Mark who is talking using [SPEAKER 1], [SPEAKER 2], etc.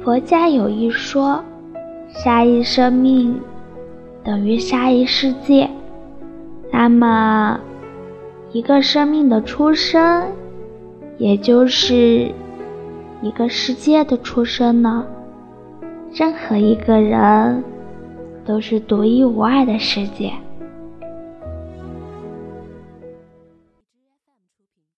[SPEAKER 1] 佛家有一说，下一生命等于下一世界。那么，一个生命的出生，也就是一个世界的出生呢。任何一个人都是独一无二的世界。